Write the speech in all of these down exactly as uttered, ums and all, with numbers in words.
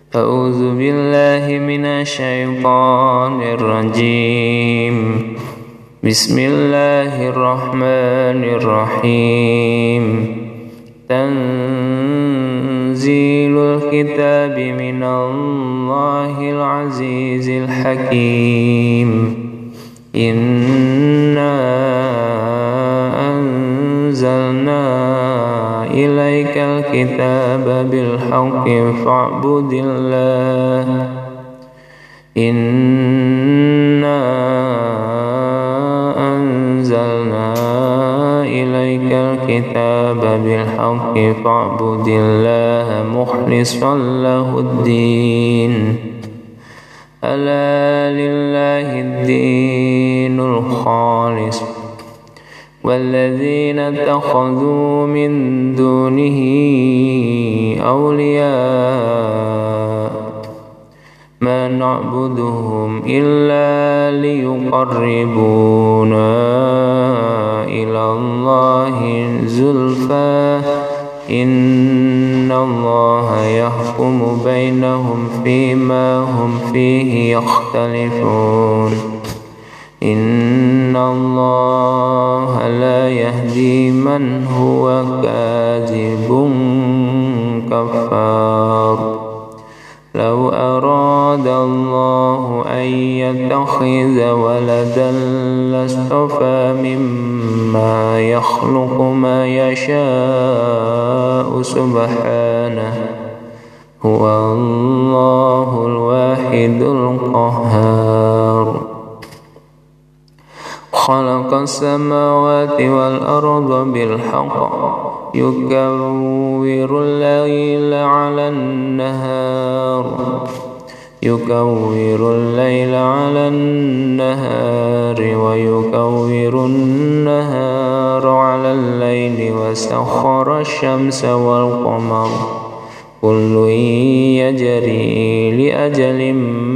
أعوذ بالله من الشيطان الرجيم. بسم الله الرحمن الرحيم. تنزيل الكتاب من الله العزيز الحكيم. إنا أنزلنا إليك الكتاب بالحق فاعبد الله. إنا أنزلنا إليك الكتاب بالحق فاعبد الله مخلصا له الدين. ألا لله الدين الخالص والذين اتخذوا من دونه أولياء ما نعبدهم إلا ليقربونا إلى الله زلفى إن الله يحكم بينهم فيما هم فيه يختلفون. إن الله لا يهدي من هو كاذب كفار. لو أراد الله أن يتخذ ولدا لاصطفى مما يخلق ما يشاء سبحانه هو الله الواحد القهار. خلق السماوات والأرض بالحق يكور الليل على النهار يكور الليل على النهار ويكور النهار على الليل وسخر الشمس والقمر كل يجري لأجل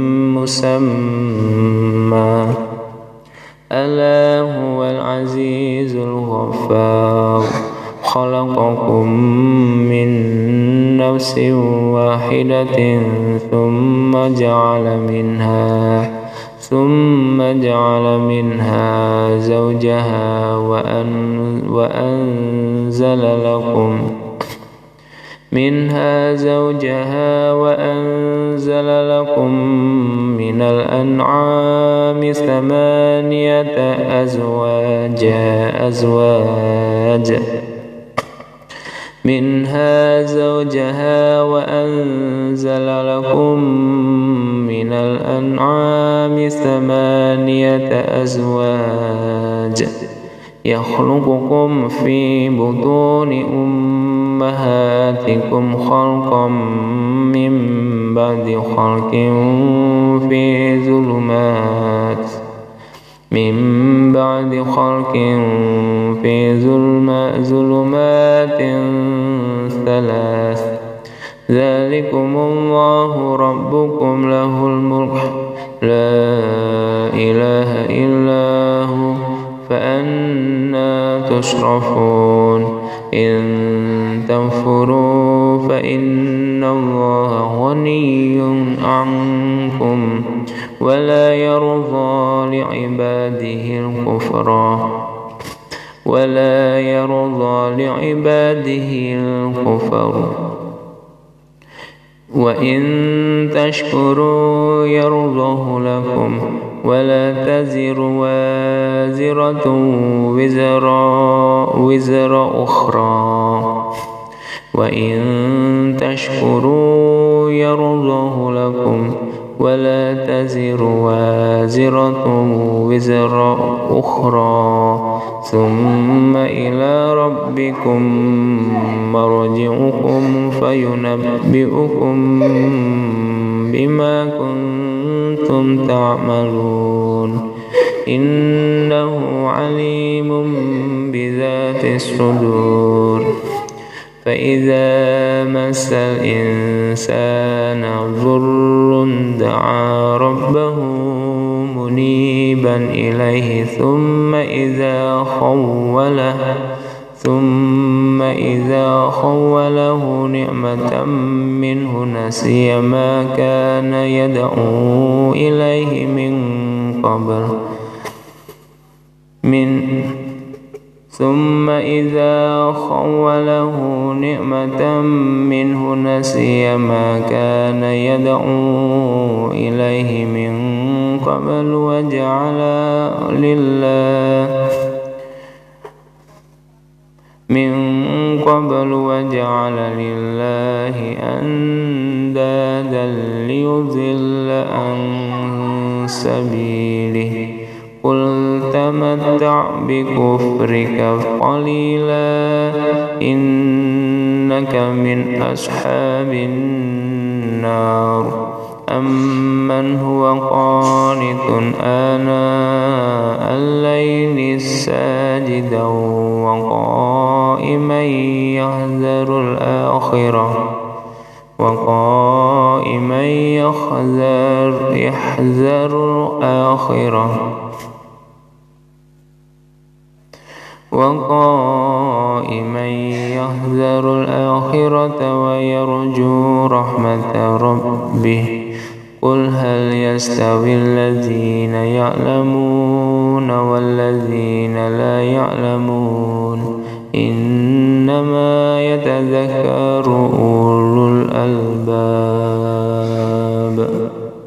مسمى ألا هو العزيز الغفار. خلقكم من نفس واحدة ثم جعل منها ثم جعل منها زوجها وأن وأنزل لكم منها زوجها وأنزل لكم من الأنعام ثمانية أزواج أزواج منها زوجها وأنزل لكم من الأنعام ثمانية أزواج يخلقكم في بطون أمهاتكم خلقا من بعد خلق في ظلمات من بعد خلق في ظلمات ثلاث ذلكم الله ربكم له الملك لا إله إلا هو فأنا تصرفون. إن تنفروا فإن الله غني عنكم ولا يرضى لعباده الكفر ولا يرضى لعباده الكفر وإن تشكروا يرضه لكم ولا تزر وازرة وزر وزر أخرى وإن تشكروا يرضه لكم ولا تزر وازرة وزر أخرى ثم إلى ربكم مرجعكم فينبئكم بما كنتم تعملون. إنه عليم بذات الصدور. فإذا مس الإنسان ضر دعا ربه منيبا إليه ثم إذا خوله ثم إذا خوله نعمة منه نسي ما كان يدعو إليه من قبل من ثم إذا خوله نعمة منه نسي ما كان يدعو إليه من قبل وجعل لله من قبل وجعل لله أندادا ليضل عن سبيله قل تمتع بكفرك قليلا إنك من أصحاب النار أمن هو قانت آناء الليل ساجدا وقائما يحذر الآخرة وقائما يحذر يحذر الآخرة وقائما يحذر الآخرة ويرجو رحمة ربه قل هل يستوي الذين يعلمون والذين لا يعلمون إنما يتذكر أولو الألباب.